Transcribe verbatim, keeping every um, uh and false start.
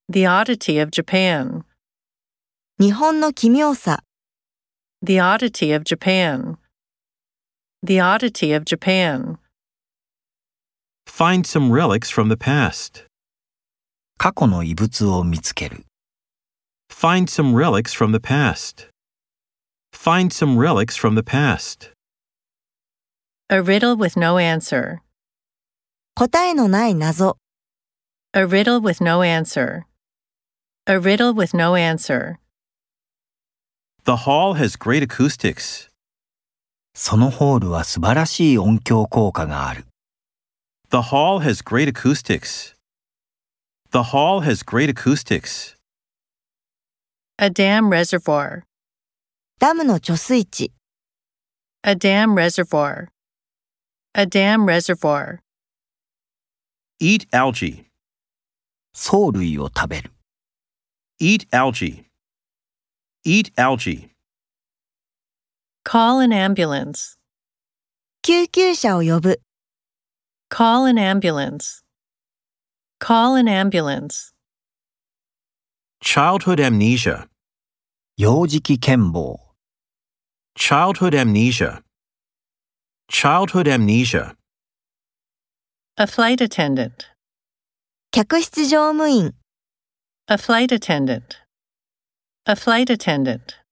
The oddity of Japan. 日本の奇妙さ。 The oddity of Japan. The oddity of Japan. Find some relics from the past. 過去の遺物を見つける。 Find some relics from the past. Find some relics from the past. A riddle with no answer. 答えのない謎。 A riddle with no answer. A riddle with no answer. The hall has great acoustics. そのホールは素晴らしい音響効果がある。 The hall has great acoustics. The hall has great acoustics. A dam reservoir. ダムの貯水池。 A dam reservoir. A dam reservoir. Eat algae. 藻類を食べる。 Eat algae. Eat algae. Call an ambulance. 救急車を呼ぶ。 Call an ambulance. Call an ambulance. Childhood amnesia. 幼児期健忘。 Childhood amnesia. Childhood amnesia. A flight attendant. 客室乗務員。 A flight attendant. A flight attendant.